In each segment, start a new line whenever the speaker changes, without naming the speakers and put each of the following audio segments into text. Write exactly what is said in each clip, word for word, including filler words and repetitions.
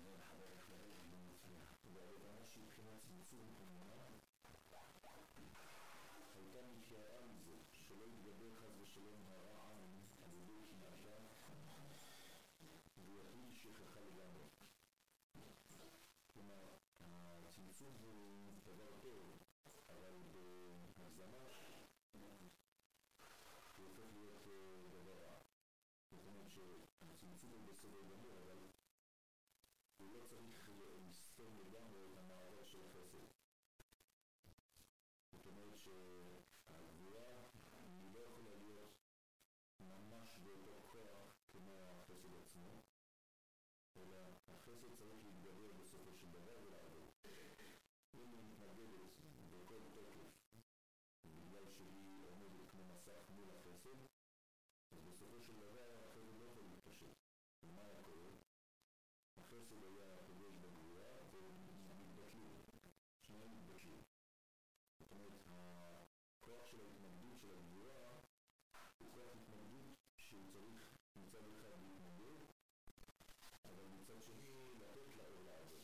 לחבר איך לראות לא מצליח. והלבנה שבחינת צמצום אמונה הייתה מתייראה מזה שלא יתגבר חס ושלום הרע עין על ידי קנאתה ויחליט שכחה לגמרי. כלומר, הצמצום הוא דבר טוב, אבל בהגזמה הוא הופך להיות דבר רע. זאת אומרת שהצמצום הוא בסדר גמור, אבל הוא לא צריך לסתום לגמרי את המעבר של החסד. זאת אומרת שהגבורה היא לא יכולה להיות ממש באותו כוח כמו החסד עצמו, אלא החסד צריך להתגבר בסופו של דבר ולעבור. אם היא מתנגדת בכל תוקף בגלל שהיא עומדת כמו מסך מול החסד, אז בסופו של דבר החסד לא יכול להתפשט. ומה היה קורה? החסד היה פוגש בגבורה ומתבטלו, שניהם מתבטלו. זאת אומרת, הכוח של ההתנגדות של הגבורה הוא כוח התנגדות שהוא צריך מצד אחד להתנגד, אבל מצד שני לתת לאור לעבוד.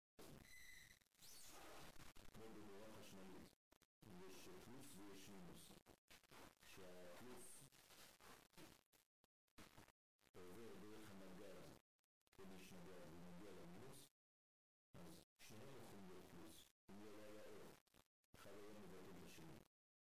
כמו במורה חשמלית, יש פלוס ויש מינוס. כשהפלוס עובר דרך הנגד, כן יש נגד ומגיע למינוס, אז שניהם יכולים להיות פלוס. אם לא היה אור, אחד היה מבטל את השני.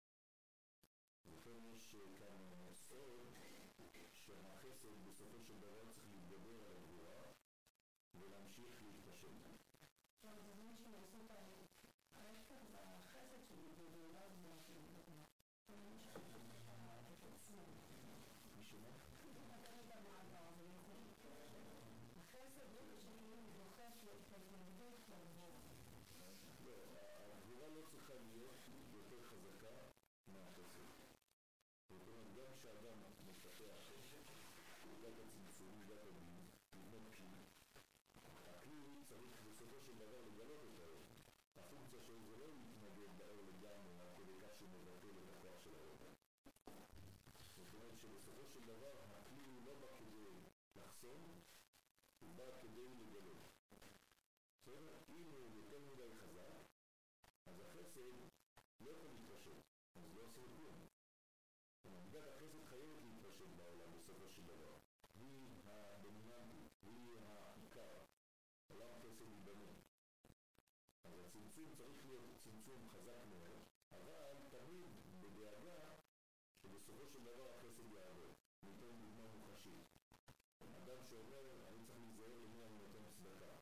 וכן יש כאן סוד שהחסד בסופו של דבר צריך להתגבר על הגבורה ולהמשיך להתפשט.
טוב, זה זמן שמעשות ההפך והחסד שלי בגאולה ובגאולה. אני משחקת את עצמי.
מי שומע?
נתן את המעבר, אבל יכולים החסד שלי דוחף את ההתנגדות לגבורה.
לא, הגבורה לא צריכה להיות יותר חזקה מהחסד. זאת אומרת, גם כשאדם מפתח מידת הצמצום, מידת הדין, לבנות כלי, הכלי צריך בסופו של דבר לגלות את האור. הפונקציה שלו זה לא להתנגד באור לגמרי, עד כדי כך שהוא מבטל את הכוח של האור. זאת אומרת שבסופו של דבר הכלי הוא לא בא כדי לחסום, הוא בא כדי לגלות. זאת אומרת, אם הוא יותר מדי חזק, אז החסד לא יכול להתפשט, אז לא עושה כלום. מידת החסד חייבת להתפשט בעולם בסופו של דבר. היא הדומיננטית, היא העיקר. עולם חסד ייבנה. אז הצמצום צריך להיות צמצום חזק מאוד, אבל תמיד בדאגה שבסופו של דבר החסד יעבור. ניתן דוגמה מוחשית. אדם שאומר, אני צריך להיזהר למי אני נותן צדקה.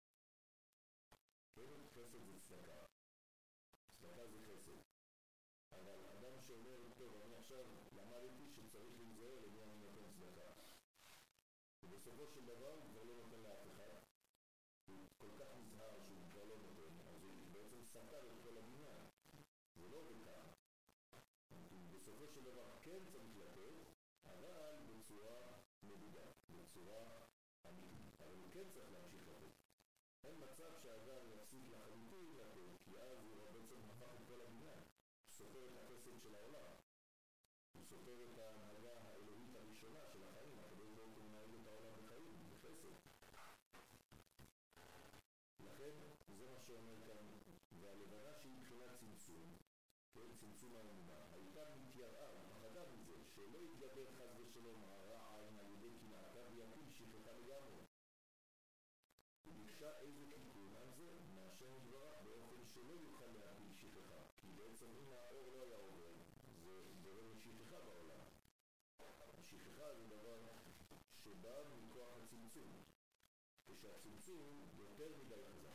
כן, חסד זה צדקה. צדקה זה חסד. אבל אדם שאומר, טוב, אני עכשיו למדתי שצריך להיזהר למי אני נותן צדקה. ובסופו של דבר הוא כבר לא נותן לאף אחד. הוא כל כך נזהר שהוא כבר לא נותן, אז הוא בעצם סתר את כל הבניין. זה לא בכך. בסופו של דבר כן צריך לתת, אבל בצורה מדודה, בצורה אמיתית. אבל הוא כן צריך להמשיך לתת. אין מצב שהאדם יפסיק לחלוטין לתת, כי אז הוא בעצם הפך את כל הבניין. הוא סופר את החסד של העולם. הוא סופר את ההנהגה האלוהית הראשונה של החיים. הקדוש ברוך הוא מנהל את העולם בחיים, בחסד. לכן, זה מה שאומר כאן, והלבנה שהיא מבחינת צמצום, כן, צמצום האמונה, הייתה מתייראה, פחדה מזה, שלא יתגבר חס ושלום הרע עין על ידי קנאתה ויפיל שכחה לגמרי. הוא ביקשה איזה תיקון על זה מהשם יתברך באופן שלא יוכל להפיל שכחה, כי בעצם אם האור לא היה עובר, זה גורם לשכחה בעולם. השכחה זה דבר שבא מכוח הצמצום, כשהצמצום יותר מדי חזק.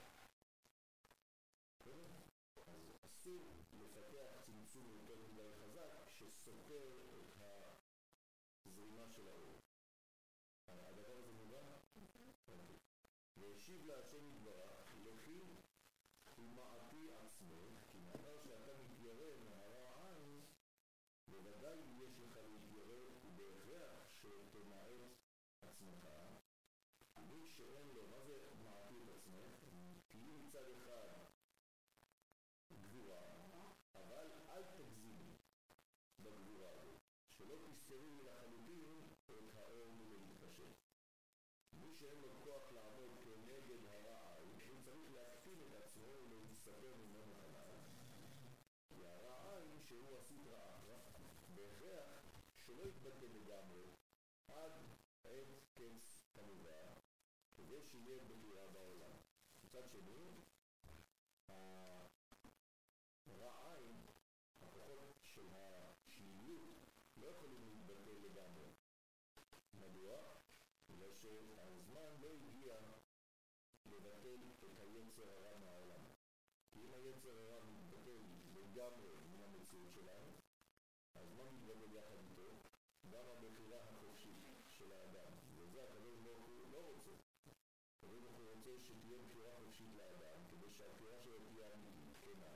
אז אסור לפתח צמצום יותר מדי חזק שסותר את הזרימה של האור. הדבר הזה מובן? והשיב להשם יתברך, לכי ומעטי עצמך, כי מאחר שאתה מתיירא מהרע עין, בוודאי יש לך להתיירא ובהכרח שתמעט עצמך. מי שאין לו, מה זה מעטי את עצמך? כי אם מצד אחד גבורה, אבל אל תגזימי בגבורה הזאת, שלא תסתרי לחלוטין את האור מלהתפשט. מי שאין לו כוח לעמוד כנגד הרע הוא צריך להקטין את עצמו ולהסתבר ממנו חלל, כי הרע עין שהוא הסטרא אחרא בהכרח שלא יתבטל לגמרי עד עת קץ כמובן, כדי שיהיה בחירה בעולם. מצד שני, הרע עין, הכוחות של השליליות לא יכולים להתבטל לגמרי. מדוע? בגלל שהזמן לא הגיע לבטל את היצר הרע מהעולם. כי אם היצר הרע מתבטל לגמרי מן המציאות שלנו, אז מה מתבטל יחד איתו? גם הבחירה החופשית של האדם. וזה הקדוש ברוך הוא לא רוצה. הקדוש ברוך הוא רוצה שתהיה בחירה חופשית לאדם, כדי שהבחירה שלו תהיה אמיתית, כנה.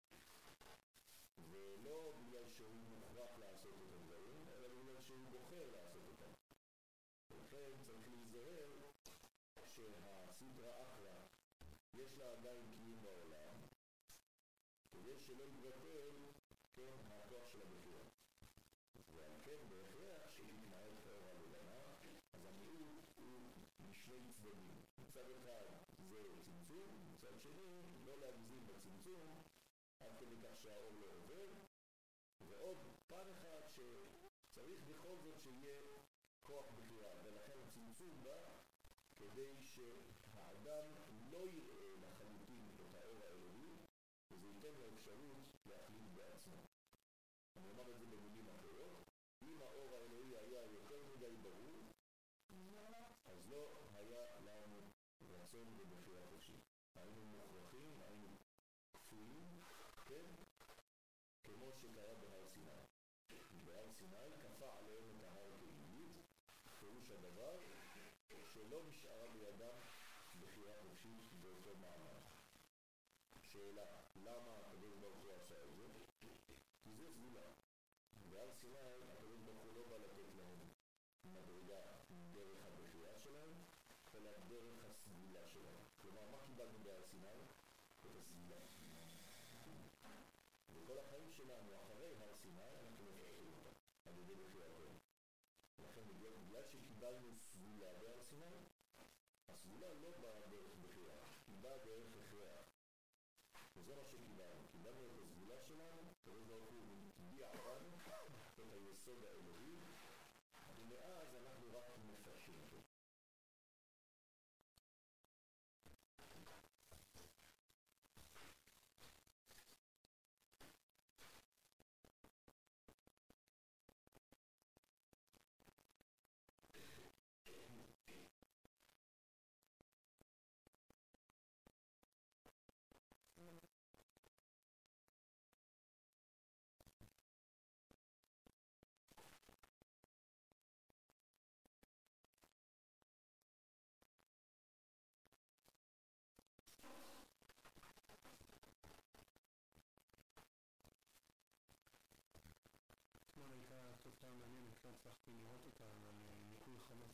ולא בגלל שהוא מוכרח לעשות את הדברים, אלא בגלל שהוא בוחר לעשות אותם. ולכן צריך להיזהר שהסטרא אחרא יש לה עדיין קיום בעולם, כדי שלא יתבטל, כן, הכוח של הבחירה. ועל כן בהכרח שהתנהל כאור הלבנה, אז המיעוט הוא משני צדדים. מצד אחד זה צמצום, מצד שני לא להגזים בצמצום, עד כדי כך שהאור לא עובר, ועוד פן אחד שצריך בכל זאת שיהיה כוח בחירה, ולכן הצמצום בא כדי שהאדם לא יראה לחלוטין את האור האלוהי, וזה ייתן לו אפשרות להחליט בעצמו. אני אומר את זה במילים אחרות, אם האור האלוהי היה יותר מדי ברור, אז לא היה לנו רצון ובחירה חופשית. היינו מוכרחים, היינו כפויים, כן? כמו שקרה בהר סיני. בהר סיני כפה עליהם את ההר כעילית, פירוש הדבר שלא נשארה בידם בחירה חופשית באותו מעמד. שאלה, למה הקדוש ברוך הוא עשה את זה? כי זה סגולה. בהר סיני הקדוש ברוך הוא לא בא לתת להם מדרגה דרך הבחירה שלהם, אלא דרך הסגולה שלהם. כלומר, מה קיבלנו בהר סיני? את הסגולה. וכל החיים שלנו אחרי הר סיני אנחנו מפתחים אותה על ידי בחירתנו. לכן בגלל שקיבלנו סגולה בהר סיני, הסגולה לא באה דרך בחירה, היא באה דרך הכרח. וזה מה שקיבלנו. קיבלנו את הסגולה שלנו, הקדוש ברוך הוא הטביע בנו את היסוד האלוהי, ומאז אנחנו רק מפתחים אותו.
אתמול הייתה תופעה מעניינת, לא הצלחתי לראות אותה, אבל ניקוי חמה.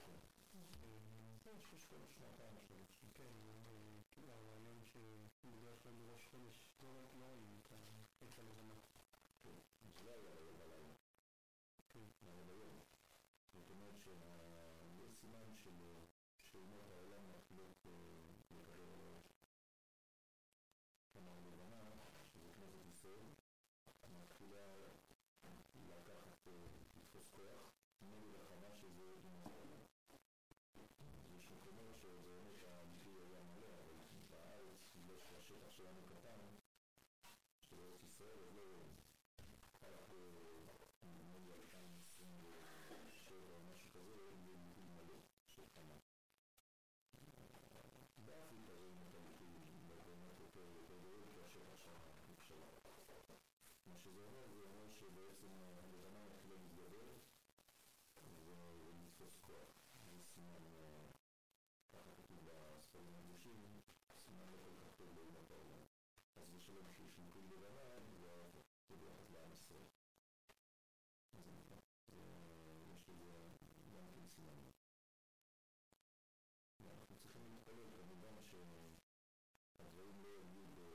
זה שיש כל שנתיים שלוש.
כן, כאילו הרעיון שבדרך כלל בראש חודש לא רואים את החץ הלבנה.
כן, זה לא היה היום בלילה.
כן.
היה ביום. זאת אומרת שיש סימן של אומות העולם מתחילות לקבל על הראש. כלומר, לבנה, שזה כנסת ישראל, מתחילה לקחת, לתפוס כוח, נגד החמה שזה עם העולם. יש מקומות שבאמת הביטוי היה מלא, אבל בארץ, בגלל שהשטח שלנו קטן, של ארץ ישראל, אז לא רק נגיד אלפיים עשרים ושבע או משהו כזה, יהיה ביטוי מלא של חמה. באפריקה רואים את הביטוי באמת יותר גדול, כי השטח שם נפשלה. מה שזה אומר, זה אומר שבעצם הלבנה מתחילה להתגבר ולתפוס כוח. זה סימן, ככה כתוב בספרים הקדושים, סימן לא כל כך טוב לאומות העולם. אז זה שלא בשביל שינקוי לבנה, זה ביחד לעם ישראל. אז יש לזה גם כן סימן. ואנחנו צריכים להתפלל כמובן שהדברים לא יגיעו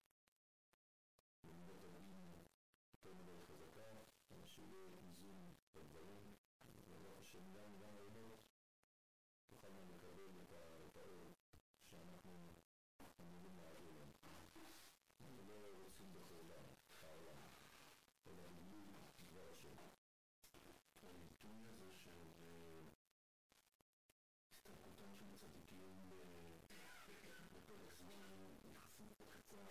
במידת הדין יותר מדי חזקה, אלא שיהיה איזון בדברים, ולא השם גם גם האמת תוכלנו לקבל את האור שאנחנו אמורים להעביר להם. אנחנו לא רוצים בחורבן, העולם, אלא גילוי דבר השם. הביטוי הזה של הסתלקותם של צדיקים בפרק זמן יחסית קצר,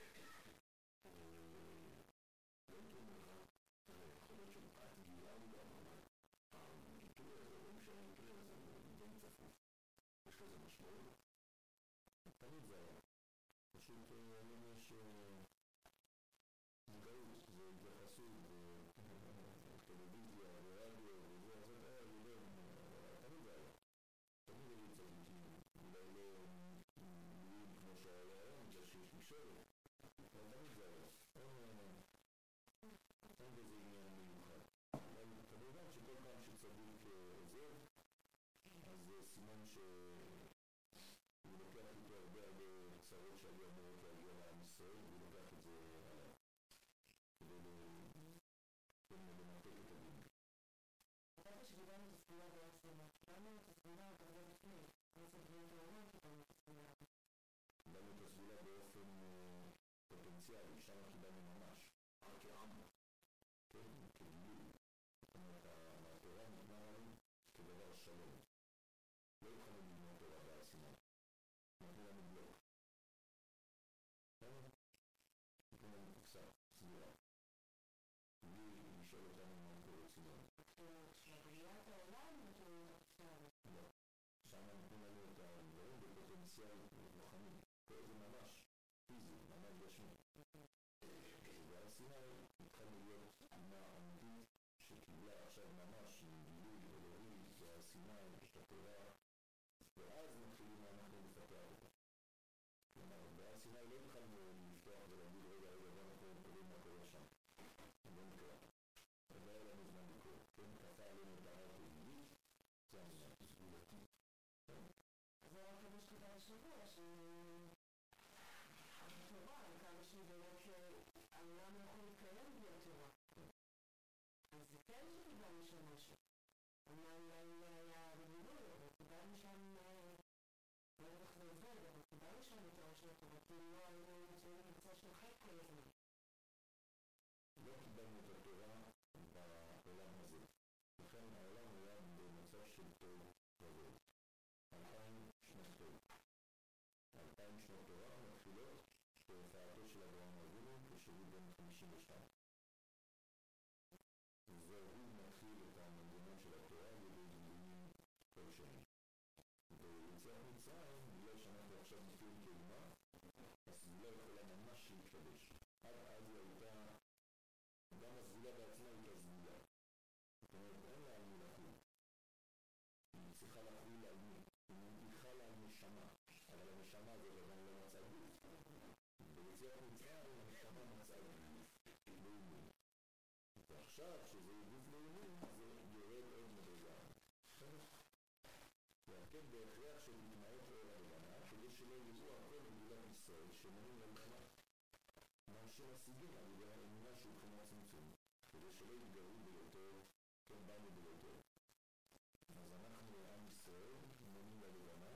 לא הייתי אומר לך, יכול להיות שמפאת גילם גם, אבל הביטוי הזה, לא משנה הביטוי הזה, הוא די צפוף. יש לזה משמעות? תמיד זה היה. פשוט היום יש מודעות, זה התייחסות, טלוויזיה, ורדיו, וזה, אז זה היה, תמיד זה היה. תמיד היו צדיקים, אולי לא מילים כמו שהיה היום, בגלל שיש משרת, אבל תמיד זה היה. אין בזה עניין מיוחד. אבל כמובן שכל פעם שצדיק עוזב, אז זה סימן שהוא לוקח איתו הרבה הרבה צרות שהיו אמורות להגיע לעם ישראל, והוא לוקח את זה עליו כדי למתק את הדין.
חשבתי שדיברנו את הספירה בעצם, דיברנו את הספירה הרבה לפני, בעצם דברים בעולם קיבלנו את הספירה.
קיבלנו את הספירה באופן פוטנציאלי, שם קיבלנו ממש, כעם, כן, כגילוי. זאת אומרת, התורה ניתנה לנו כדבר שלום. לא יכולנו לבנות תורה בהר סיני. נתנו לנו בלוק. נתנו לנו קופסה, סבירה. בלי לשאול אותנו מה אנחנו רוצים לנו.
כשבריאת העולם נתנו לנו קופסה.
לא. שם נתנו לנו את הדברים בפוטנציאל רוחני. פה זה ממש פיזי, ממש גשמי. בהר סיני התחלנו להיות תמונה אמיתית שקיבלה עכשיו ממש גילוי אלוהי בהר סיני, את התורה, ואז מתחילים אנחנו לפתח אותה. כלומר, בהר סיני לא התחלנו לפתוח ולהגיד רגע רגע בוא אנחנו קוראים מה קורה שם. לא נקרא. אז לא היה לנו זמן לקרוא. כן, כפה עלינו את ההר תגילית, זה העניין, סגולתי.
אז זה רק כמה שכתב השבוע, שהתורה, כמה שהיא באמת העולם לא יכול להתקיים בלי התורה. אז זה כן שקיבלנו שם משהו. אולי היה בגילוי, אבל קיבלנו שם, לא יודעת איך זה עובד, אבל קיבלנו שם את האור של התורה, כי לא היינו נמצאים במצע של חד כל הזמן.
לא קיבלנו את התורה בעולם הזה. לכן העולם היה במצב של טוב רבות. אלפיים שנות טוב. אלפיים שנות תורה מתחילות בהופעתו של אברהם אבינו כשהוא בן חמישים ושתיים. והוא מתחיל את המנגנון של התורה ובגילויים כל שני. ביציאת מצרים, בגלל שאנחנו עכשיו נפילים כאומה, הסגולה יכולה ממש להתקדש. עד אז היא הייתה, גם הסגולה בעצמה הייתה סגולה. זאת אומרת, אין לה על מי לחול. היא צריכה לחול על מי. היא מנתיחה לה נשמה, אבל הנשמה הזאת עדיין לא מצאה גוף. ביציאת מצרים, הנשמה מצאה גוף לאומי. ועכשיו, שזה גוף לאומי, זה יורד עוד מדרגה. והכן בהכרח של מתנאות לאור הגנה, כדי שלא יראו הכל בגבולת ישראל, שמונים למחנה. מאנשים השיגים על ידי האמונה שהוא בחינת צמצום, כדי שלא יתגרו ביותר, כן באנו ביותר. אז אנחנו, עם ישראל, מונים ללבנה,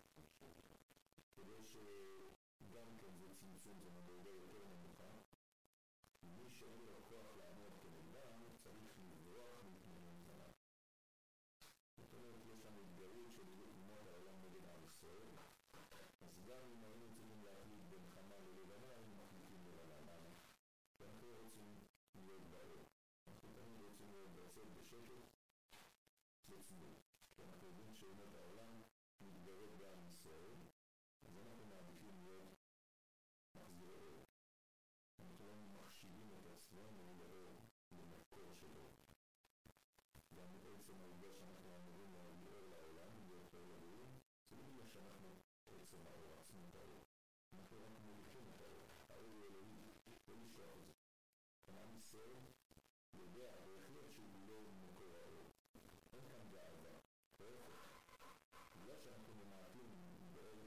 כדי שגם כן זה צמצום, זה מדרגה יותר נמוכה. מי שאין לו כוח לעמוד כנגדם, צריך לברוח מפני מזנה. זאת אומרת, יש לנו התגרות של עילות תמונות העולם נגד עם ישראל, אז גם אם היינו צריכים להחליט בין חמה ללבנה, היינו מחליטים ללבנה. ואנחנו רוצים להיות באור. אנחנו תמיד רוצים להיות בצד בשקט, בצניעות. כי אנחנו יודעים שאומות העולם מתגרות בעם ישראל, אז אנחנו מעדיפים להיות מחזירי אור. אנחנו לא מחשיבים את עצמנו לאור, למקור של אור. גם בעצם העובדה שאנחנו אמורים להביא אור לעולם, להיות אור אלוהים, זה לא בגלל שאנחנו בעצם האור, עצמות האור. אנחנו רק מוליכים את האור. האור הוא אלוהי, לא לשלוח את זה. עם ישראל יודע בהחלט שהוא לא מקור האור. אין כאן גאווה. בגלל שאנחנו ממעטים באור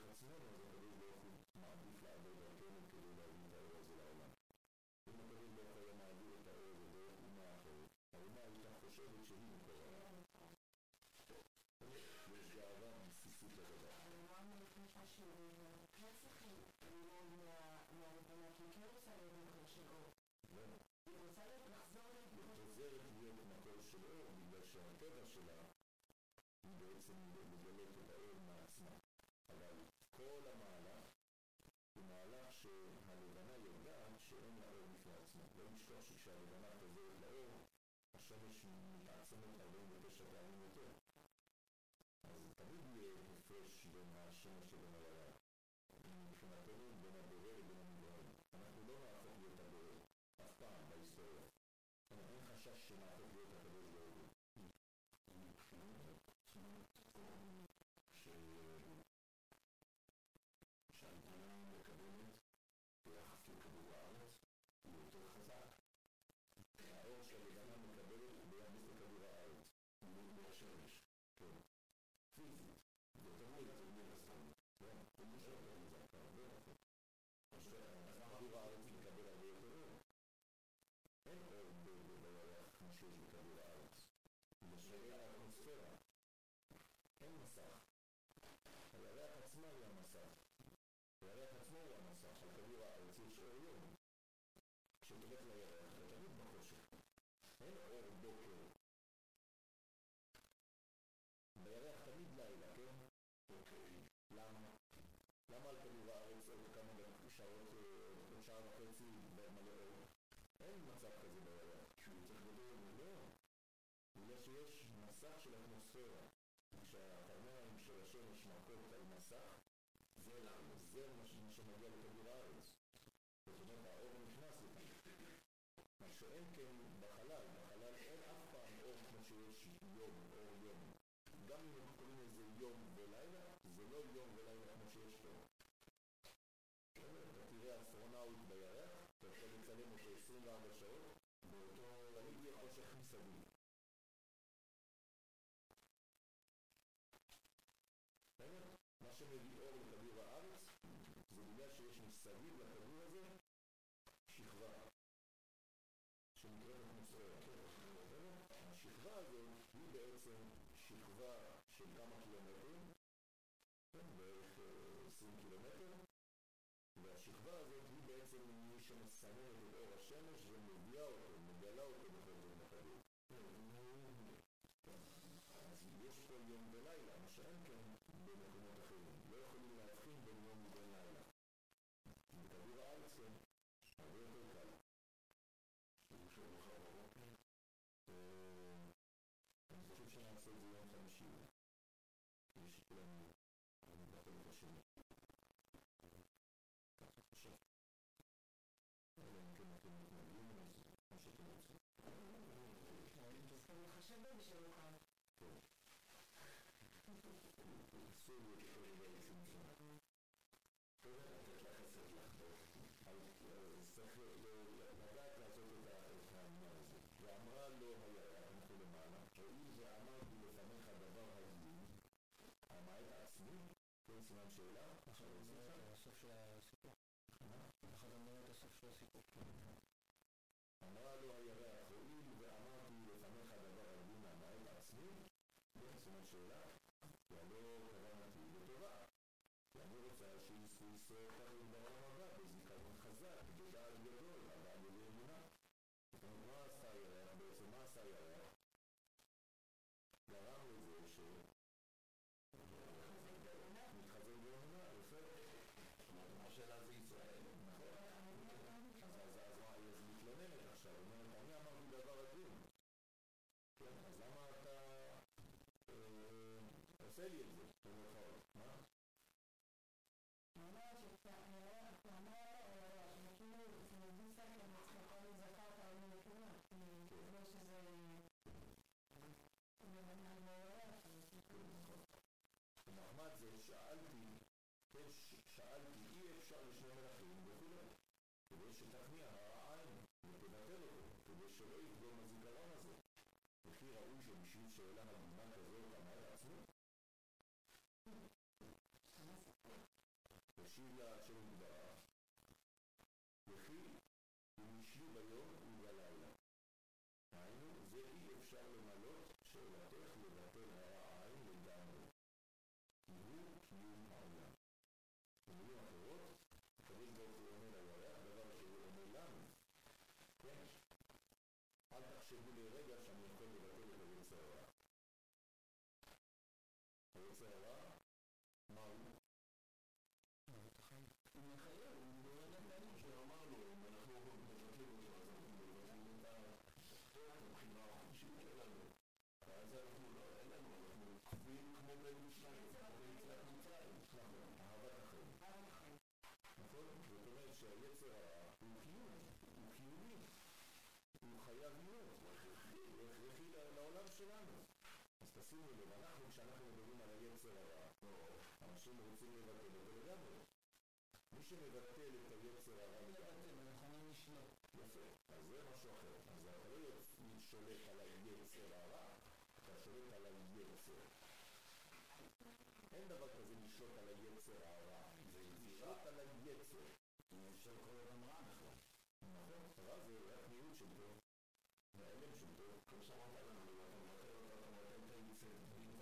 כן רוצה להיות מקור של אור. היא רוצה לחזור למקור של
אור. חוזרת להיות מקור של אור, בגלל שהטבע שלה היא בעצם לגלות את האור מעצמה. אבל כל המהלך הוא מהלך שהלבנה יודעת שאין לה אור בפני עצמה. לא לשכוח שכשהלבנה חוזרת לאור, השמש מתעצמת ארבעים ותשע פעמים יותר. אז תמיד יהיה הפרש בין השמש לבין הירח. מבחינתנו בין הבורא לבין המתגלה. אנחנו לא נהפוך להיות הבורא אף פעם בהיסטוריה. אין חשש שנהפוך להיות הקדוש ברוך הוא. שהלבנה מקבלת ביחס לכדור הארץ הוא יותר חזק. האור שהלבנה מקבלת ביחס לכדור הארץ מהשמש. כן. פיזית. זה תמיד, זה תמיד הסתם. כן. זה משהו יותר מזק. הרבה נכון. כדור הארץ מקבל הרבה יותר אור. אין אור בירח כמו שיש בכדור הארץ. בשביל האטמוספירה אין מסך. הירח עצמה היא המסך. הירח עצמו הוא המסך. על כדור הארץ יש אור יום. כשתלך לירח אתה תמיד בחושך. אין אור בוקר. בירח תמיד לילה, כן? אוקיי. למה? למה על כדור הארץ עוד כמה שעות, עוד שעה וחצי מלא אור? אין מצב כזה בירח. שהוא צריך גדול, לא. בגלל שיש מסך של אטמוספירה. כשהקרניים של השמש מכות על מסך, זה למה? זה מה שמגיע לכדור הארץ. זאת אומרת, האור נכנס לכאן. מה שאין כן בחלל, בחלל אין אף פעם אור כמו שיש יום, אור יום. גם אם אנחנו קוראים לזה יום ולילה, זה לא יום ולילה כמו שיש פה. אתה תראה אסטרונאוט בירח, אתה יכול לצלם אותו עשרים וארבע שעות, באותו תמיד יהיה חושך מסביב. מה שמביא אור לכדור הארץ זה בגלל שיש מסביב לכדור הזה שכבה שנקראת אטמוספירה. השכבה הזאת היא בעצם שכבה של כמה קילומטרים, בערך עשרים קילומטר, והשכבה הזאת היא בעצם מי שמסננת את אור השמש ומביאה אותו, מגלה אותו בכל זאת לכדור. אז יש פה יום ולילה, מה שאין כן במקומות אחרים. לא יכולים להבחין בין יום ובין לילה. בכדור הארץ כן, הרבה יותר קל. אני חושב לך בבוקר. אני חושב שנעשה את זה יום חמישי. כדי שכולם נבטל את השני. ככה חושב. אלא אם כן אתם מתנגדים, אז כמו שאתם רוצים.
אני חושב בי שלא קל.
אסור לי את כל דבר לצמצום. טוב, לתת לך עשת לך. אז צריך לדעת לעשות את העניין הזה. ואמרה לו הירח, אנחנו למעלה, הואיל ואמרתי לפניך דבר הדין, המעט עצמי, כן סימן שאלה?
עכשיו נראה את הסוף של הסיפור. עכשיו נראה את הסוף של הסיפור.
אמרה לו הירח, הואיל ואמרתי לפניך דבר הדין, המעט עצמי, כן סימן שאלה? ולא כוונתי לטובה. ואני רוצה שיזכו ישראל תמיד בעולם הבא, בזיכרון חזק, בדעת גדול, אבל בלי אמונה. זאת אומרת, מה עשה הירח? בעצם מה עשה הירח? גרם לזה ש... מתחזק באמונה, יפה. מה שאלה זה ישראל. נכון. אז מה, היא מתלוננת עכשיו, אומרת, אני אמרתי דבר הדין. כן, אז למה אתה... עושה לי את זה, במרכאות, מה?
הוא אומר שהירח, הוא אומר לירח, שכאילו זה מביא שכל מצחקו לזכרת על מלכונה. כמו שזה... הוא מבנה על הירח, זה כאילו נכון.
נחמד זה, שאלתי, כן, שאלתי, אי אפשר לשני מלכים וכו'. כדי שתכניע העין ותבטל אותו, כדי שלא יפגום הזיכרון הזה. וכי ראוי שבשביל שאלה הגונה כזאת המעט עצמו? תשיב לה של מדברה, וכי הוא משלי ביום ובלילה. היינו, זה אי אפשר למלות שאלתך לבטל העין לגמרי. כי הוא קיום העולם. במילים אחרות, הקדוש ברוך הוא אומר לירח, דבר שהוא כן? אל תחשבו לרגע שאני יכול לבטל את היצר הרע. היצר הרע, מה הוא?
מוות החיים.
הוא מחייב, הוא מדבר על הפעמים שאמרנו, אם אנחנו מבטלים אותו, אז אנחנו מבטלים את הבחירה החופשית שלנו. ואז אנחנו לא, אין לנו, אנחנו קובעים כמו בין שניים, כמו ביציאת מצרים. נכון, אהבת החיים. נכון? זאת אומרת שהיצר הרע הוא קיום, הוא קיומי. הוא חייב להיות, הוא הכרחי לעולם שלנו. אז תשימו לב, אנחנו כשאנחנו מדברים על היצר הרע, אנשים רוצים לבטל אותו לגמרי. מי שמבטל את היצר הרע,
לבטל, אנחנו נשלוט.
יפה, אז זה משהו אחר. אז אתה לא שולט על היצר הרע, אתה שולט על היצר. אין דבר כזה לשלוט על היצר הרע, זה לשלוט על היצר.
אפשר כל אדם רע בכלל.
נכון, רע זה רק מיעוט של טוב, מהאלם של טוב. כמו שאמרת לנו, אתה מבטל אותו, אתה מבטל את היצר,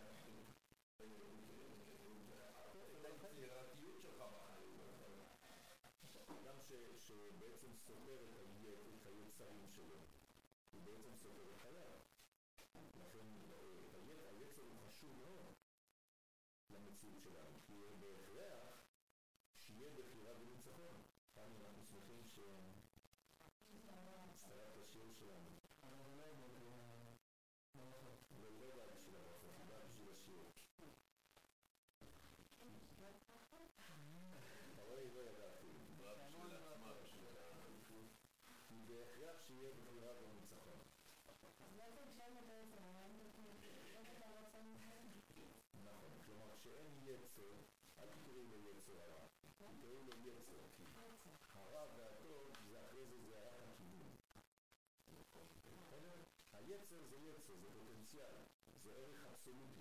את היצירתיות שלך בחיים. אדם שבעצם סותר את היצרים שלו, הוא בעצם סותר את חייו. לכן היצר הוא חשוב מאוד למציאות שלנו, כי בהכרח שיהיה בחירה וניצחון. כאן אנחנו שמחים שהצטרף לשיר שלנו.
אבל זה לא יבוא ברכות.
אבל לא בא בשביל הברכות, היא באה בשביל השיר. אתה רואה, היא לא ידעה אפילו. היא באה בשביל עצמה, בשביל העדיפות. היא בהכרח שיהיה בחירה וניצחון.
אז בעצם כשאין את היצר הרע, אין את הרצון הזה?
נכון, כלומר כשאין יצר, אל תקראו לו יצר הרע, תקראו לו יצר, כי הרע והטוב זה אחרי זה זה רק הכיוון. היצר זה יצר, זה פוטנציאל, זה ערך אבסולוטי.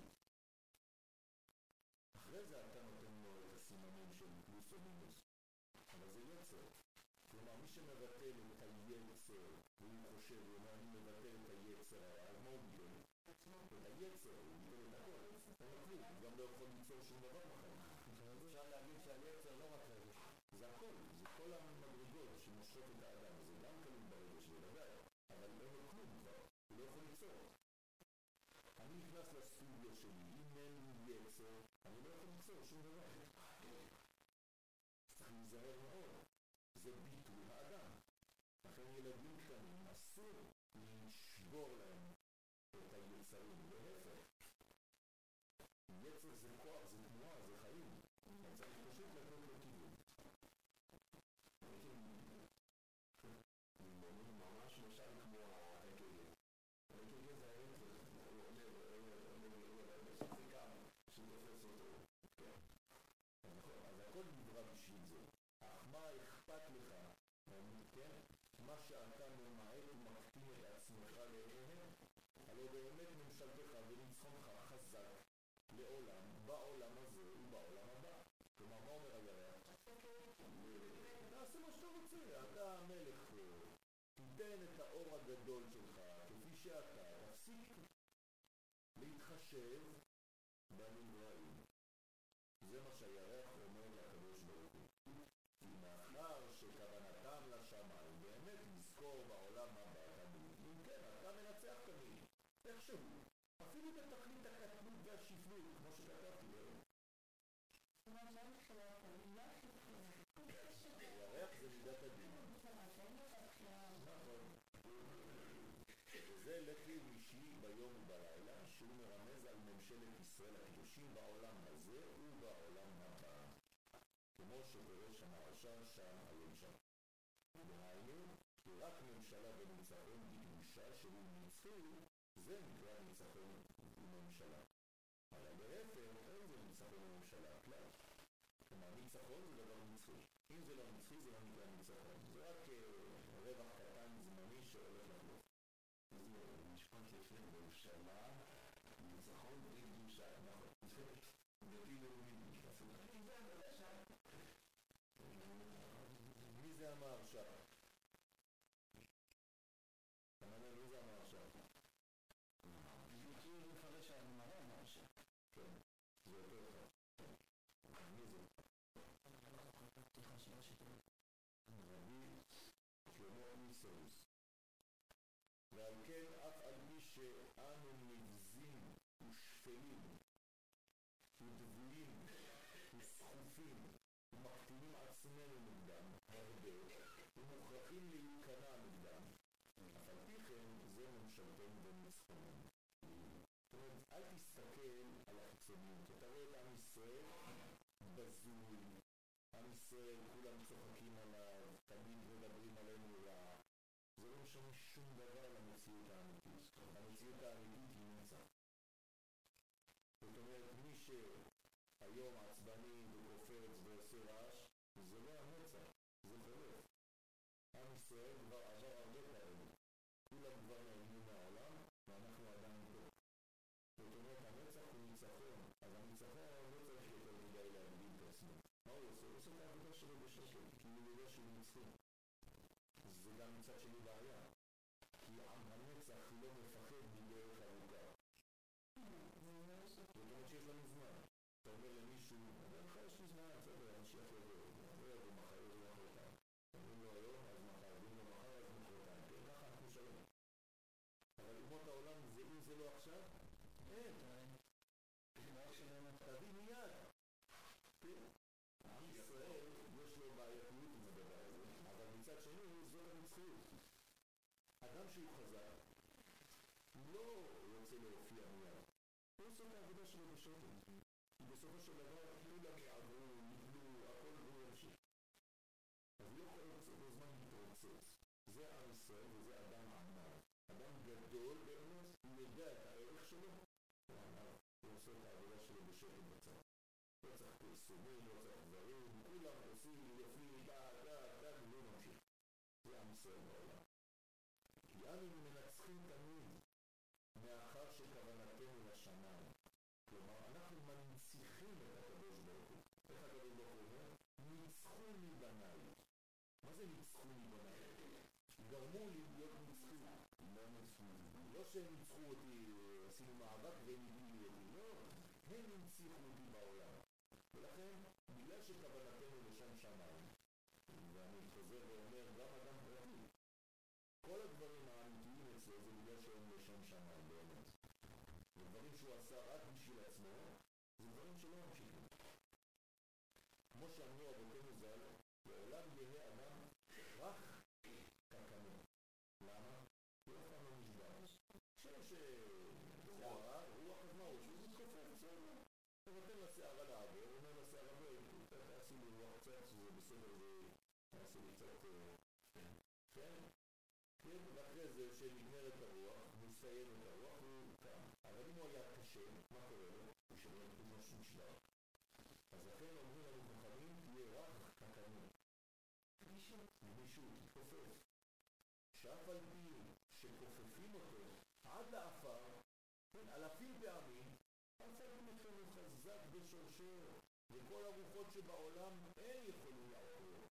אחרי זה אתה נותן לו את הסימנים של פלוס או מינוס, אבל זה יצר. כלומר מי שמבטל את היצר והוא חושב, הוא אומר אני מבטל את היצר הרע, אז מה הוא ביטל? את היצר, הוא ביטל את הכל, אין לו כלום, הוא גם לא יכול ליצור שום דבר בחיים.
אפשר להגיד שהיצר לא רק רגש.
זה הכל, זה כל המדרגות שמושכות את האדם, זה גם כלום ברגש בוודאי, אבל אין לו כלום כבר, הוא לא יכול ליצור. אני נכנס לסטודיו שלי, אם אין לי יצר, אני לא יכול ליצור שום דבר. צריך להיזהר מאוד, זה ביטול האדם. לכן ילדים קטנים אסור לשבור להם את היצרים, להפך. יצר זה כוח, זה תנועה, זה חיים. אתה צריך פשוט לתת לו כיוון. ממש משל כמו ה-אק"ג. ה-אק"ג זה היצר, הוא אומר, זה גם שתופס אותו. אז הכל נברא בשביל זה. אך מה אכפת לך, כן? מה שאתה ממעט ומקטין את עצמך לעיניהם, הלא באמת ממשלתך וניצחונך חזק לעולם, בעולם הזה ובעולם הבא. כלומר, מה אומר הירח? תעשה מה שאתה רוצה, אתה המלך, תיתן את האור הגדול שלך כפי שאתה, תפסיק להתחשב בנבראים. זה מה שהירח אומר לקדוש ברוך הוא. כי מאחר שכוונתם לשמיים באמת לזכור בעולם הבא תמיד, אם כן, אתה מנצח תמיד, איכשהו, אפילו בתכלית הקטנות והשפלות, כמו שכתבתי להם.
זאת אומרת, לא מתחילת המילה חיפה.
הירח זה מידת הדין. נכון. וזה לחי אישי ביום ובלילה, שהוא מרמז על ממשלת ישראל הקדושים בעולם הזה ובעולם הבא. כמו שפרש המהרש"א שם היום שם. דהיינו, כי רק ממשלה וניצחון בקדושה שהוא ניצחו, זה נקרא ניצחון וממשלה. אבל להפך, אין זה ניצחון וממשלה, כלל. כלומר, ניצחון זה דבר נצחי. אם זה לא נצחי, זה לא נקרא ניצחון. זה רק רווח קטן זמני שהולך לחלוף. זה משפט יפה, ממשלה, ניצחון בלי קדושה. נכון. דתי לאומי. מי זה אמר שם? כמובן, מי זה אמר שם?
כאילו לפרש שהגמרא אמר ש...
כן, זה יותר אחד. מי זה?
אני לא זוכר את הפתיחה של השתות.
רבי שלמה איסרוס. ועל כן אף על פי שאנו נבזים ושפלים ודבויים וסחופים ומקטינים עצמנו נגדם הרבה ומוכרחים להיכנע נגדם, אף על פי כן זה ממשלתנו וניצחוננו. זאת אומרת, אל תסתכל על החיצוניות. אתה רואה את עם ישראל בזוי, עם ישראל כולם צוחקים עליו, תמיד מדברים עלינו רע. זה לא משנה שום דבר למציאות האמיתית. המציאות האמיתית היא נצח. זאת אומרת, מי שהיום עצבני וקופץ ועושה רעש, זה לא הנצח, זה חולף. עם ישראל כבר עבר הרבה כאלה. כולם כבר נעלמו מהעולם, ואנחנו עדיין פה. זאת אומרת, הנצח הוא ניצחון. אז הניצחון לא צריך יותר מדי להגדיל את עצמו. מה הוא עושה? הוא עושה את העבודה שלו בשקט, כי הוא יודע שהוא ניצחו. זה גם מצד שלי בעיה. כי עם הנצח לא מפחד מדרך ארוכה. זאת אומרת שיש לנו זמן. אתה אומר למישהו, אני לך יש לי זמן, בסדר, המשיח יבוא. לא יבוא מחר, יבוא מחרתיים. אומרים לו היום, אז מחר, אומרים לו מחר, אז מחרתיים. כן, ככה אנחנו שלום. אבל אומות העולם, אם זה לא עכשיו, אין. תביא מיד. עם ישראל, יש לו בעייתיות עם הדבר הזה, אבל מצד שני, זאת הנצחיות. אדם שהוא חזק, לא רוצה להופיע מיד. הוא עושה את העבודה שלו בשקט. בסופו של דבר, כולם יעברו, יבלו, הכל הוא ימשיך. אז לא כל הזמן מתרוצץ. זה עם ישראל וזה אדם ענב. אדם גדול באמת, הוא יודע את הערך שלו, הוא ענב. הוא עושה את העבודה שלו בשקט בצד. לא צריך פרסומים, לא צריך דברים, כולם עושים, יפים, דה, דה, דה, ולא ממשיך. זה עם ישראל בעולם. כי אנו מנצחים תמיד מאחר שכוונתנו לשמיים. כלומר, אנחנו מנציחים את הקדוש ברוך הוא. איך הקדוש ברוך הוא אומר? ניצחו מבניי. מה זה ניצחו מבניי? גרמו לי להיות ניצחו. לא ניצחו. לא שהם ניצחו אותי, עשינו מאבק והם הגיעו אותי. לא. הם ניצחו אותי בעולם. ולכן, בגלל שכוונתנו לשם שמיים, ואני חוזר ואומר, גם אדם פרטי, כל הדברים האמיתיים אצלו זה בגלל שהם לשם שמיים באמת. ודברים שהוא עשה רק בשביל עצמו, זה דברים שלא ממשיכים. כמו שאמרו אבותינו ז"ל, לעולם יהיה אדם רק קקנו. למה? כי אף פעם לא נשבר. כשיש שערה, רוח אז מה הוא? שהוא מתכופף, בסדר. הוא נותן לשערה לעבור, הוא אומר לשערה, תעשי לי רוח קצת, שזה בסדר, תעשי לי קצת, כן? כן, ואחרי זה שנגמרת הרוח, מסיים את הרוח, הוא קם. אבל אם הוא היה קשה, מה קורה לו? הוא שומע כמו שום שלב. אז לכן אומרים לנו חכמים, תהיה רק קקנו. גמישות. גמישות, תתכופף. שאף על פי שכופפים אותו עד לאפר, כן, אלפים פעמים, מצאתם אתכם הוא חזק בשורשו, וכל הרוחות שבעולם אין יכולים לעקור.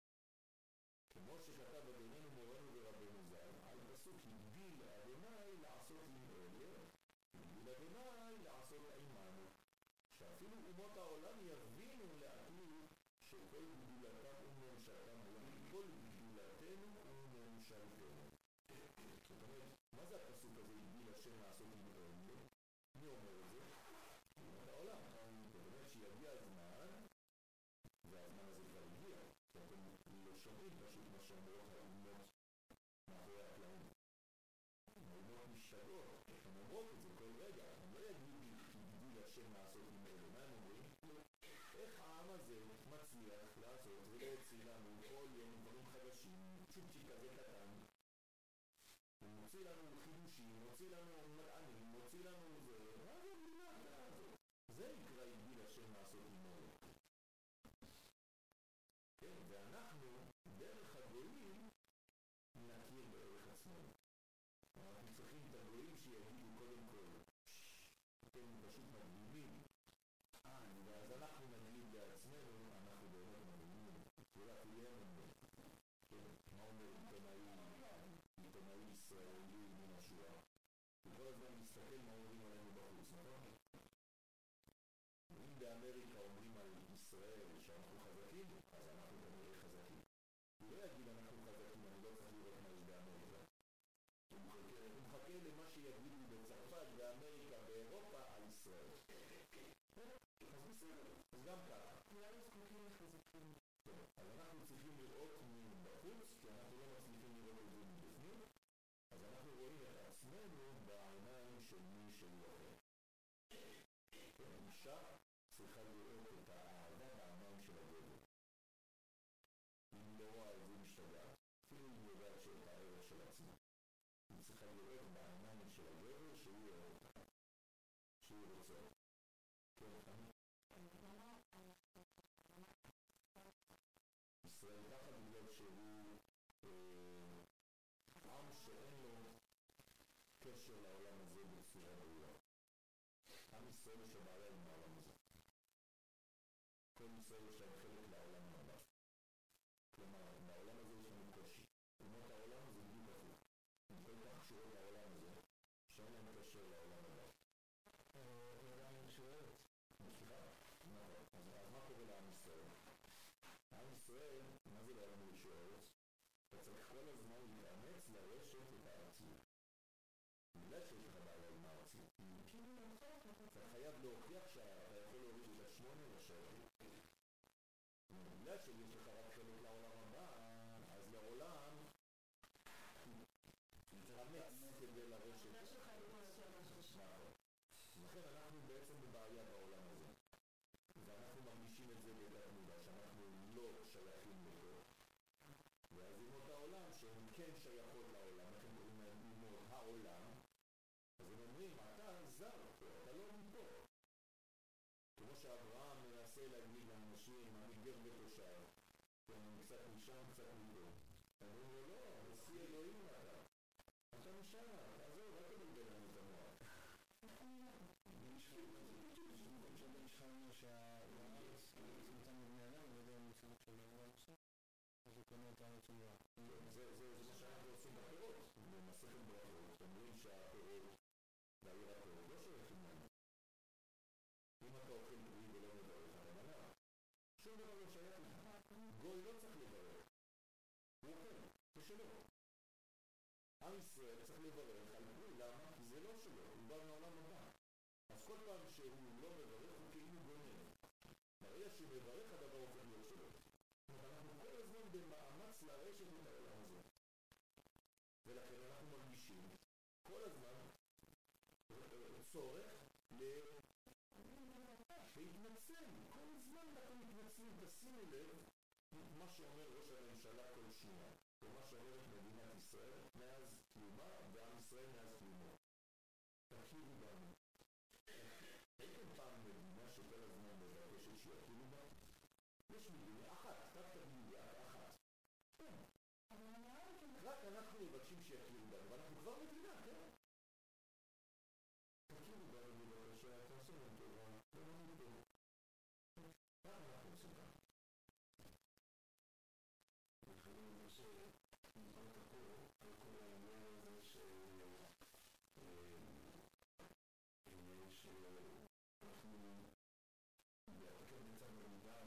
כמו שכתב אדוננו מורנו ורבנו ז"ל, על פסוק הגדיל אדוני לעשות עם אלה, הגדיל אדוני לעשות עמנו. שאפילו אומות העולם יבינו לעתיד שכל גדולתם וממשלתם וכל גדולתנו וממשלתנו. זאת אומרת, מה זה הפסוק הזה הגדיל השם לעשות עם אלה? מי אומר את זה? אומות העולם. זאת אומרת שיגיע הזמן, והזמן הזה כבר הגיע. אתם לא שומעים פשוט מה שאומרות האומות מאחורי הקלעים. האומות משתגעות, הן אומרות את זה כל רגע, הן לא יגידו הגדיל השם לעשות עם אלה. מה הם אומרים? איך העם הזה מצליח לעשות ולהוציא לנו כל יום דברים חדשים, צ'ופצ'יק כזה קטן, הוא מוציא לנו חידושים, מוציא לנו מדענים, מוציא לנו זה, מה זה המדינה הזאת? זה נקרא הגדיל השם לעשות עם אלה. כן, ואנחנו, דרך הגויים, נכיר בערך עצמנו. אנחנו צריכים את הגויים שיגידו קודם כל, אתם פשוט מדהימים, ואז אנחנו נגיד בעצמנו, אנחנו באמת מדהימים, ואולי תהיה לנו. כן, מה אומר עיתונאי, עיתונאי ישראלי מן השואה? וכל הזמן מסתכל מה אומרים עלינו בחוץ, נכון? אם באמריקה אומרים על ישראל שאנחנו חזקים, אז אנחנו כנראה חזקים. הוא לא יגיד אנחנו חזקים, אני לא צריך לראות מה יש באמריקה. הוא מחכה בסדר, אז גם ככה.
כולנו זקוקים לחיזוקים.
טוב, אז אנחנו צריכים לראות מבחוץ, כי אנחנו לא מצליחים לראות את זה מבפנים, אז אנחנו רואים את עצמנו בעיניים של מי שהוא אחר. אישה צריכה לראות את האהבה בעיניים של הגבר. אם לא רואה את זה משתגעת, אפילו אם יודעת שאת הערך של עצמה. היא צריכה לראות בעיניים של הגבר שהוא אוהב אותה, שהוא רוצה. כן, חמי? ישראל ככה בגלל שהוא אה, עם שאין לו קשר לעולם הזה בצורה ראויה. עם ישראל יש הבעיה עם העולם הזה. כל ישראל יש להם חלק לעולם הבא. כלומר, בעולם הזה יש לנו קושי. אומות העולם זה בדיוק הפוך. הם כל כך קשורות לעולם הזה, שאין להם קשר לעולם הבא.
עולם שואלת.
סליחה? נכון. אז מה קורה לעם ישראל? עם ישראל, מה זה לעולם לשואלת? אתה צריך כל הזמן להתאמץ לרשת את הארציות. בגלל שיש לך בעיה עם הארציות. אתה חייב להוכיח שאתה יכול להוריד את השמונה לשבת. בגלל שיש לך רק חלק לעולם הבא, אז לעולם להתאמץ כדי לרשת.
זה שלך עם השבע שלושה.
נכון. לכן אנחנו בעצם בבעיה בעולם הזה. ואנחנו מרגישים את זה בדעת מודע, שאנחנו לא שייכים לפה. ואז אומות העולם שהן כן שייכות לעולם, אנחנו קוראים להם אומות העולם, אז הם אומרים, אתה זר פה, אתה לא מפה. כמו שאברהם מנסה להגיד לאנשים, אני גר ותושב, קצת משם, קצת מפה. אומרים לו, לא, נשיא אלוהים אתה. אתה משם, תעזור, רק תבלבל לנו את המוח.
נשמענו שהארץ נותן לבני אדם ויודע מציאות של העולם עכשיו, אז הוא קונה את הארץ ומראה.
זה מה שאנחנו עושים בפירות. במסכת ברכות אומרים שהפירות והירקות לא שייכים לנו. אם אתה אוכל פרי ולא מברך, אתה מנע. שום דבר לא שייך לך. גוי לא צריך לברך. הוא אוכל, זה שלו. עם ישראל צריך לברך על פרי, למה? כי זה לא שלו, הוא בא מעולם הבא. אז כל פעם שהוא לא מברך הוא כאילו גונן. ברגע שהוא מברך הדבר הופך להיות שלו. אנחנו כל הזמן במאמץ לרשת את העולם הזה. ולכן אנחנו מרגישים כל הזמן צורך להתנצל. כל הזמן אנחנו מתנצלים. תשימו לב מה שאומר ראש הממשלה כל שנייה. ומה שאומרת מדינת ישראל מאז קיומה ועם ישראל מאז קיומו. תכירו בנו. הייתם פעם מדינה שכל הזמן מבקשת שיכירו בה? יש מדינה אחת, רק תגידי, אחת. רק אנחנו מבקשים שיכירו בנו, ואנחנו כבר מדינה, כן? תכירו בנו בבקשה, תעשו לנו טובה, תעשו טוב. מה אנחנו עושים כאן?
אנחנו אומרים שנזרוק הכל על כל העניין הזה של עניין שאנחנו בהתקף מצב במדל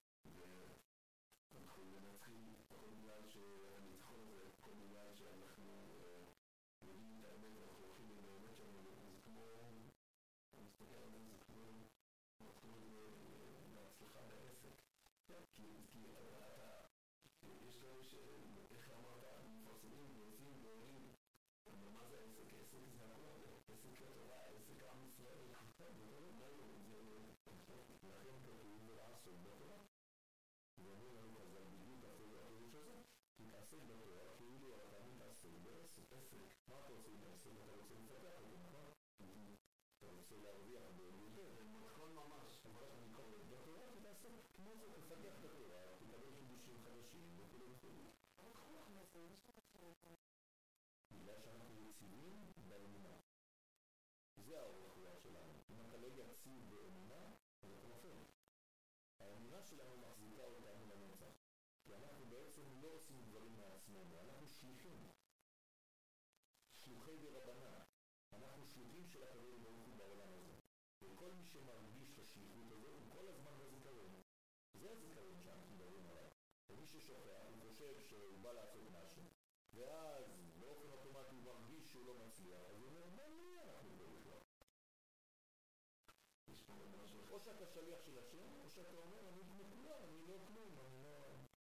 ואנחנו מנצחים כל בגלל שהניצחון הזה, כל בגלל שאנחנו יודעים את האמת ואנחנו הולכים עם האמת שלנו. זה כמו, אני מסתכל על זה, זה כמו מתחיל להצלחה בעסק, כי אתה יש כאלה שאיך אמרת, מפרסמים ועושים ועולים, אבל מה זה עסק? עסק זה הכל, עסק התורה, עסק עם ישראל, זה לא לנו, זה
לכן כתוב ולעסוק בתורה. ואומרים לנו חז"ל בדיוק הפירוש הזה, תתעסק בתורה כאילו אתה מתעסק בעסק. עסק. מה אתה עושה עם העסק? אתה רוצה לפתח אותו, נכון? אתה רוצה להרוויח ביותר.
במתכון ממש,
אבל אני קורא בתורה, תתעסק כמו זה, תפתח את התורה, תקבל חידושים חדשים וכו' וכו'.
אבל חלק מזה, יש לך שאלה.
בגלל שאנחנו יציבים באמונה. זה האורך רוח שלנו. אם אתה לא יציב באמונה, אז אתה נופל. האמונה שלנו מחזיקה אותנו לנצח. כי אנחנו בעצם לא עושים דברים מעצמנו, אנחנו שליחים. שלוחי דרבנן. אנחנו שלוחים של הקדוש ברוך הוא בעולם הזה. וכל מי שמרגיש את השליחות הזו, הוא כל הזמן בזיכרון. זה הזיכרון שאנחנו מדברים עליו. ומי ששוכח, הוא חושב שהוא בא לעשות משהו, ואז באופן אוטומטי הוא מרגיש שהוא לא מצליח, אז הוא אומר, מה לי אנחנו פה בכלל?
יש
או שאתה שליח של השם, או שאתה אומר, אני כמו כולם, אני לא כלום, אני לא...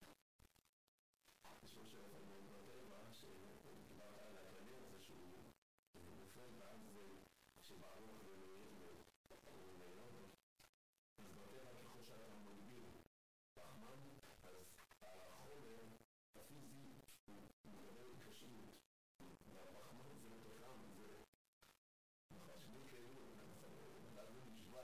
יש משהו יפה מאוד בטבע, שדיברת על הכללי הזה שהוא נופל, ואז כשבערוך ולהיך ולהיום, אז בטבע ככל שאתה מגביר פחמן, אז החומר הפיזי הוא מדבר התקשרות, והפחמן זה מתוכם, זה שני כאילו, אז זה נשבע,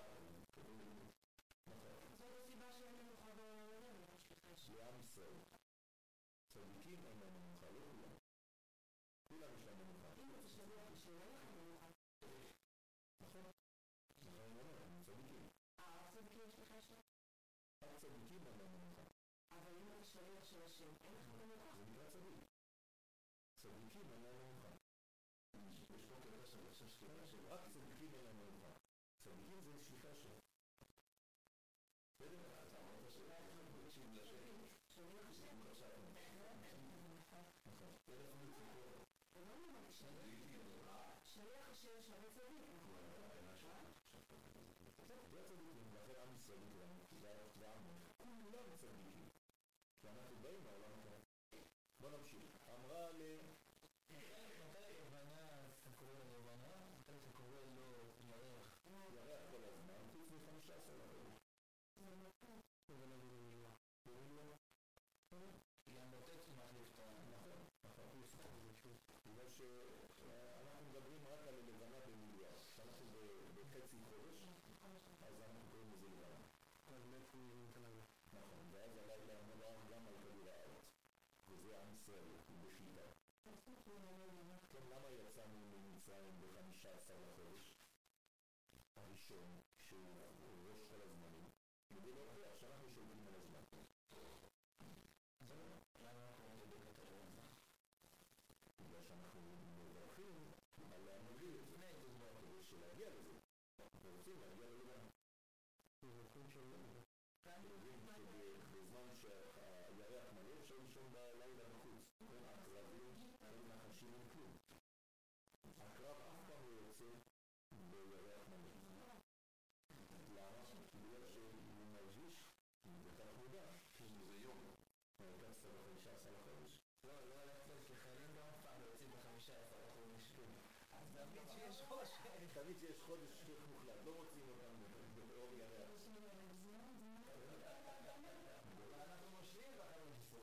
זאת הסיבה שאין מנוחה בעולם,
לעם ישראל. צדיקים אין להם מנוחה, לא כולם. כולם יש להם מנוחה.
אם אתה שליח שאין לך מנוחה.
נכון? נכון, אני אומר, הם צדיקים.
אה, רק צדיקים יש לך שם?
רק צדיקים אין להם מנוחה.
אבל אם אתה שליח של השם, אין לך מנוחה.
זה נקרא צדיק. צדיקים אין להם מנוחה.
יש פה קטע של עכשיו שליחה של
רק צדיקים אין להם מנוחה. צדיקים זה שליחה של... בסדר?
אתה אמרת שמקשיב לשם
שליח השם.
עכשיו
נכון.
טלפון ציפור
זה לא נראה שליח השם שווה צדיק, נכון?
זה הצדיקים, לכן עם ישראל נקרא, כולם צדיקים. כי אנחנו באים מהעולם הזה. בוא נמשיך. אמרה ל...
מתי לבנה, אתה קורא לה לבנה? מתי אתה קורא לו ירח?
ירח כל הזמן, חוץ מ-חמישה עשר לחודש.
זה נכון.
זה לא במילה. במילה? גם בטט מחליף את ה...
נכון, נכון. בגלל שאנחנו מדברים רק על לבנה במיליארד. כשאנחנו בחצי חודש, אז אנחנו קוראים לזה לבנה.
אז בעצם זה לילה.
נכון, ואז הלילה אמורה גם על כדור הארץ. וזה עם ישראל, בשיטה. כן, למה יצאנו ממצרים ב-חמישה עשר לחודש? הראשון, שהוא ראש כל הזמנים, כדי להוכיח שאנחנו שולטים על הזמן.
למה אנחנו לא בדקת הרעיון?
בגלל שאנחנו מברכים על להמוביל את זה, כדי שלהגיע לזה. אנחנו רוצים להגיע ללבנה.
מברכים של לילה.
יודעים שבזמן שהירח מלא אפשר לישון בלילה בחוץ. הקרבים אין נחשים אין כלום. הקרב אף פעם לא יוצא בירח מלא. למה? בגלל שהוא מרגיש וכך מודע שזה יום. הרגצת בחמישה עשר לחודש.
לא, לא הלכת כחיילים גם אף פעם לא יוצאים בחמישה עשר לחודש. אז תמיד שיש חושך.
תמיד שיש חודש שכיח מוחלט, לא מוצאים אותם באור ירח.
אנחנו מושלים בחמש עשרה.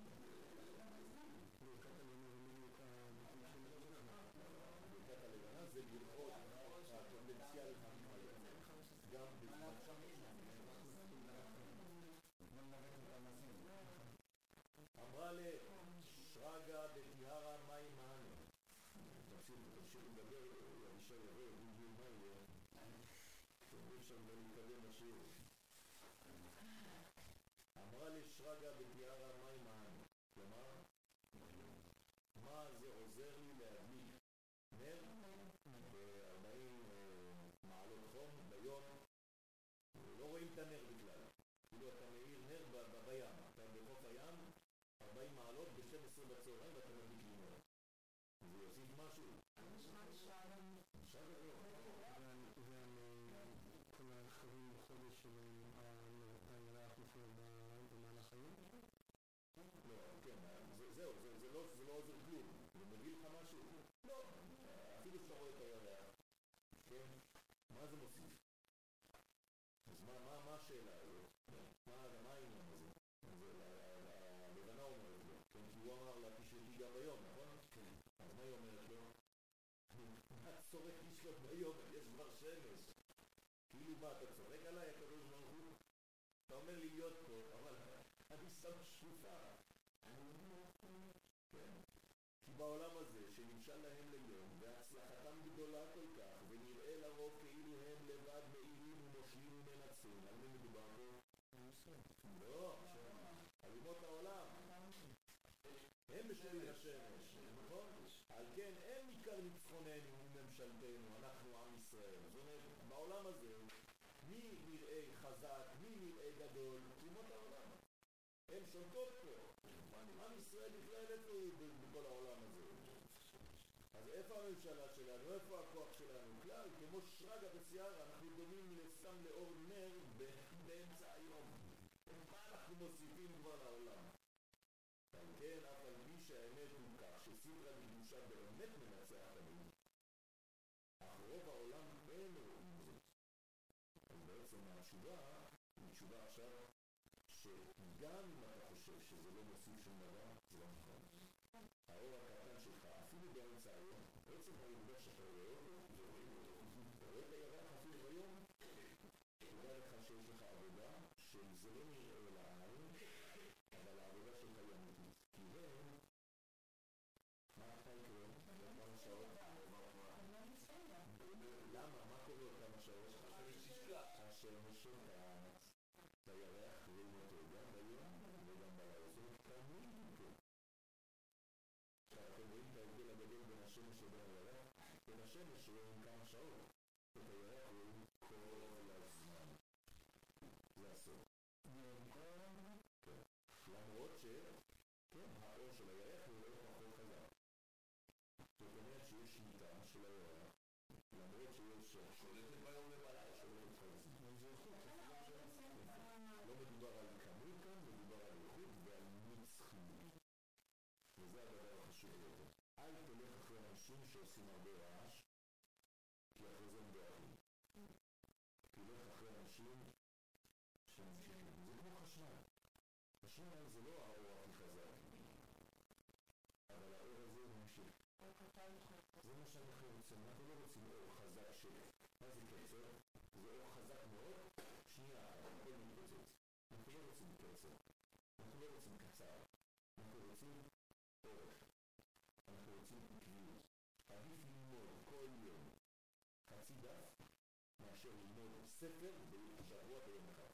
ברכת הלבנה זה לראות הפוטנציאל המתמלא. גם בזמן אמרה לשרגא בטיהרא מאי מענה. תמשיכו לדבר, אבישי יבוא, יבוא מה יהיה. שאומרים שם לא להתקדם לשיר. אמרה לשרגא בטיהרא מאי מענה. כלומר, מה זה עוזר לי להדליק נר ב-ארבעים מעלות חום ביום? לא רואים את הנר בכלל. כאילו אתה מאיר נר בים, אתה בחוף הים, ארבעים מעלות ב-שתים עשרה בצהריים ואתה מדליק לי נר. זה יוסיף משהו? עכשיו לא.
ועל כל הרכבים בחודש של הירח נופל במהלך היום?
לא, כן, זהו, זה לא עוזר כלום. זה מביא לך משהו? לא, אפילו שאתה רואה את הירח. כן? מה זה מוסיף? אז מה השאלה הזאת? מה העניין הזה? הלבנה אומרת לו, כן? כי הוא אמר לה תשלטי גם ביום, נכון? כן. אז מה היא אומרת לו? מה צורך לשלוט ביום? יש כבר שמש. כאילו מה, אתה צורק עליי, הקדוש ברוך הוא? אתה אומר לי להיות פה, אבל אני שם שפופה. כן. כי בעולם הזה שנמשל להם ליום והצלחתם גדולה כל כך ונראה לרוב כאילו הם לבד מאירים ומושלים ומנצים. על מי מדובר פה? לא, על אומות העולם. הם משלים השמש, נכון? על כן הם עיקר ניצחוננו וממשלתנו, אנחנו עם ישראל. זאת אומרת, בעולם הזה מי נראה חזק, מי נראה גדול? אומות העולם. הם שולטות פה. עם ישראל בכלל איפה בכל העולם הזה. אז איפה הממשלה שלנו? איפה הכוח שלנו? כלל, כמו שרגא בשיער, אנחנו דומים לסם לאור נר באמצע היום. מה אנחנו מוסיפים כבר לעולם? על כן, אף על פי שהאמת הוא כך, שסדרה לקדושה באמת מנצח תמיד, אך רוב העולם אין רואים זאת. אז בעצם התשובה, היא תשובה עכשיו, שגם אם אתה חושב שזה לא מוסיף שום דבר, זה לא נכון. האור הקטן שלך, אפילו באמצע היום, בעצם העובדה שאתה רואה אותו, ורואים אותו, אתה רואה את הירח אפילו ביום, תדע לך שיש לך עבודה, שזה לא נראה לעין, אבל העבודה שלך היא אמיתית. כי הם, מה אתה יקרה? כמה שעות? למה? מה קורה עוד כמה שעות? השמש שוקעת, בירח רואים אותו גם ביום וגם בלילה. זאת אומרת, תמיד פה. אתם רואים את ההבדל הגדול בין השמש לבין הירח? בין השמש רואים כמה שעות, את הירח רואים כל הזמן. זה הסוף. כן. למרות ש... כן, האור של הירח הוא לא פחות חזק. זאת אומרת שיש שליטה של הירח, למרות שיש שולטת ביום ובלילה, שולטת חזק. זה איכות, לא מדובר על כמות כאן, מדובר על איכות ועל נצחיות. וזה הדבר החשוב ביותר. אל תלך אחרי אנשים שעושים הרבה רעש, כי אחרי זה הם דואגים. תלך אחרי אנשים שממשיכים. זה כמו חשמל. חשמל זה לא האור הכי חזק, אבל האור הזה ממשיך. זה מה שאנחנו רוצים. אנחנו לא רוצים אור חזק של... מה זה קצר? זה אור חזק מאוד, שנייה, הכל מתפוצץ. אנחנו לא רוצים קצר. אנחנו לא רוצים קצר. אנחנו רוצים אורך. אנחנו רוצים עקביות. עדיף ללמוד כל יום חצי דף מאשר ללמוד ספר בשבוע ביום אחד.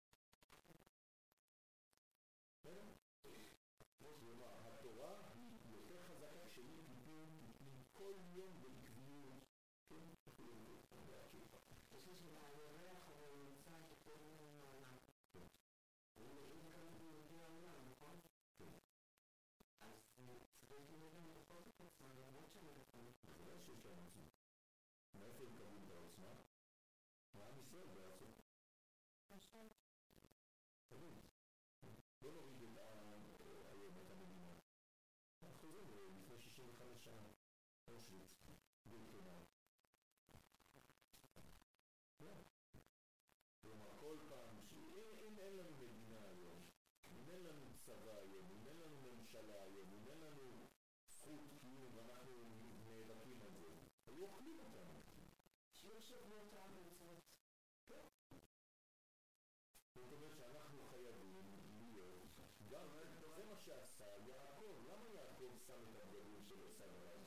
כמו שאומר, התורה היא יותר חזקה כשהיא טיפים, טיפים כל יום בעקביות. כן, תוכלו להקשיב.
יש לי שאלה, הירח אבל נמצא שכל מיני מעולם. הוא מגיע כמה מגיע העולם, נכון?
כן.
אז צריך לנגן בכל זאת עצמה, למרות שאני נכון.
זה לא שיש להם עצמה. מאיפה הם קבלים את העוצמה? מעם ישראל בעצם.
נכון.
תמיד. בוא נוריד את היום, את המדינה. אנחנו חוזרים לפני שישים וחמש שנה. אושוויץ, בירקנאו. כלומר, כל פעם שאם אין לנו מדינה היום, אם אין לנו צבא היום, אם אין לנו ממשלה היום, אם אין לנו זכות קיום ואנחנו נאבקים על זה, היו אוכלים אותנו.
שיהיו שבועות הארצות.
זאת אומרת שאנחנו חייבים להיות, גם זה מה שעשה יעקב. למה יעקב שם את הבגדים שלו שם עליו?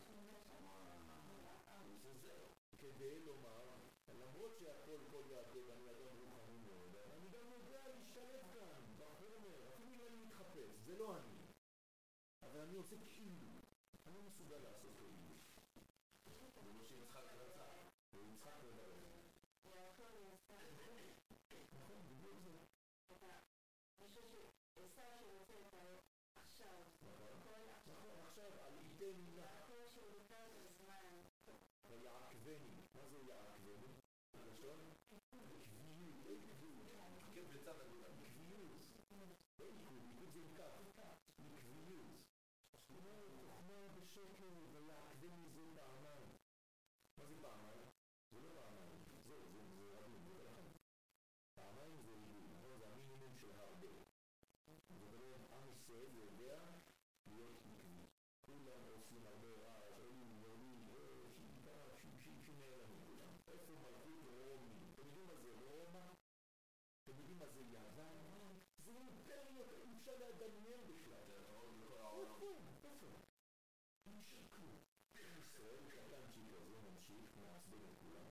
זה זהו. כדי לומר, למרות שהכל כל יעקב, אני אדם רוחני מאוד, אני גם יודע להשתלט כאן, בחומר, אפילו אם אני מתחפש, זה לא אני. אבל אני עושה כאילו, אני מסוגל לעשות כאילו. זה מה שיצחק רצה, ויצחק רצה.
יעקב יעשה.
נכון, בדיוק זה.
אני חושב שעשה שרוצה את האור עכשיו.
נכון, עכשיו, על ידי מילה.
יעקב שהוא לקראת הזמן.
ויעקבני. מה זה יעקבני? לשון? עקביות, לא עקביות. עקב בצד הגולה. עקביות. לא עקביות, עקביות זה עקב. עקביות. תוכמה בשקל ויעקבני זה פעמיים. מה זה פעמיים? זה לא פעמיים. זהו, זה רבים, זה לכם. פעמיים זה ריבוי, נכון? זה המינימום של הרבה. זאת אומרת, עם ישראל יודע להיות עקבי. כולם עושים הרבה רעש, עולים, יורדים, שיטה, שנעלמים כולם. איפה מלכות רומי? אתם יודעים מה זה רומא? אתם יודעים מה זה יוון? זה אימפריות, אי אפשר לדמיין בכלל. איפה? איפה? אין שם כלום. ישראל קטנצ'יק הזה ממשיך, מעצבן את כולם.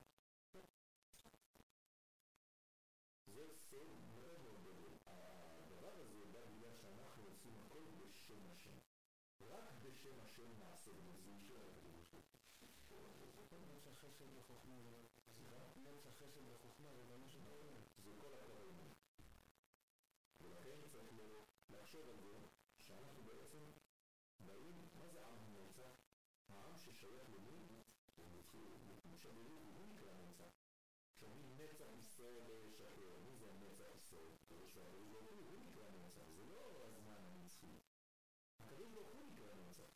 זה סוד מאוד מאוד גדול. הדבר הזה בא בגלל שאנחנו עושים הכל בשם השם. רק בשם השם נעשה וזה יישאר הכתוב שלי.
נץ החסד וחוכמה נץ החסד וחוכמה זה גם משהו בעולם.
זה כל הכבוד. ולכן צריך לחשוב על זה שאנחנו בעצם באים, מה זה עם נצח? העם ששייך למי, הוא שברוך, הוא נקרא נצח. כשאומרים נצח ישראל לא ישקר, מי זה הנצח ישראל? הקדוש ברוך הוא, הוא נקרא נצח, זה לא הזמן הנצחי. הקדוש ברוך הוא נקרא נצח.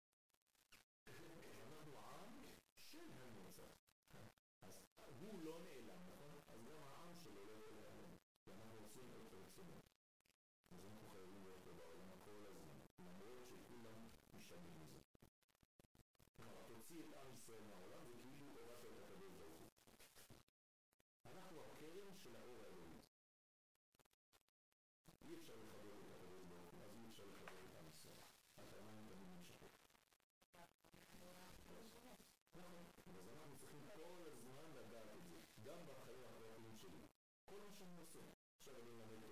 אנחנו עם של הנצח. אז הוא לא נעלם, נכון? אז גם העם שלו לא יכול להיעלם. ואנחנו עושים את רצונו. אז אנחנו חייבים להיות פה בעולם כל הזמן, למרות שכולם משתנים מזה. כלומר, תוציא את עם ישראל מהעולם, זה כאילו הורדת את הקדוש ברוך הוא. אנחנו הקרן של האור האלוהי. אי אפשר לחבר את הקדוש ברוך הוא, אז אי אפשר לחבר את עם ישראל. הקרניים תמיד נמשכות. נכון, אז אנחנו צריכים כל הזמן לדעת את זה, גם בחיים הפרטיים שלי. כל מה שאני עושה, עכשיו אני למד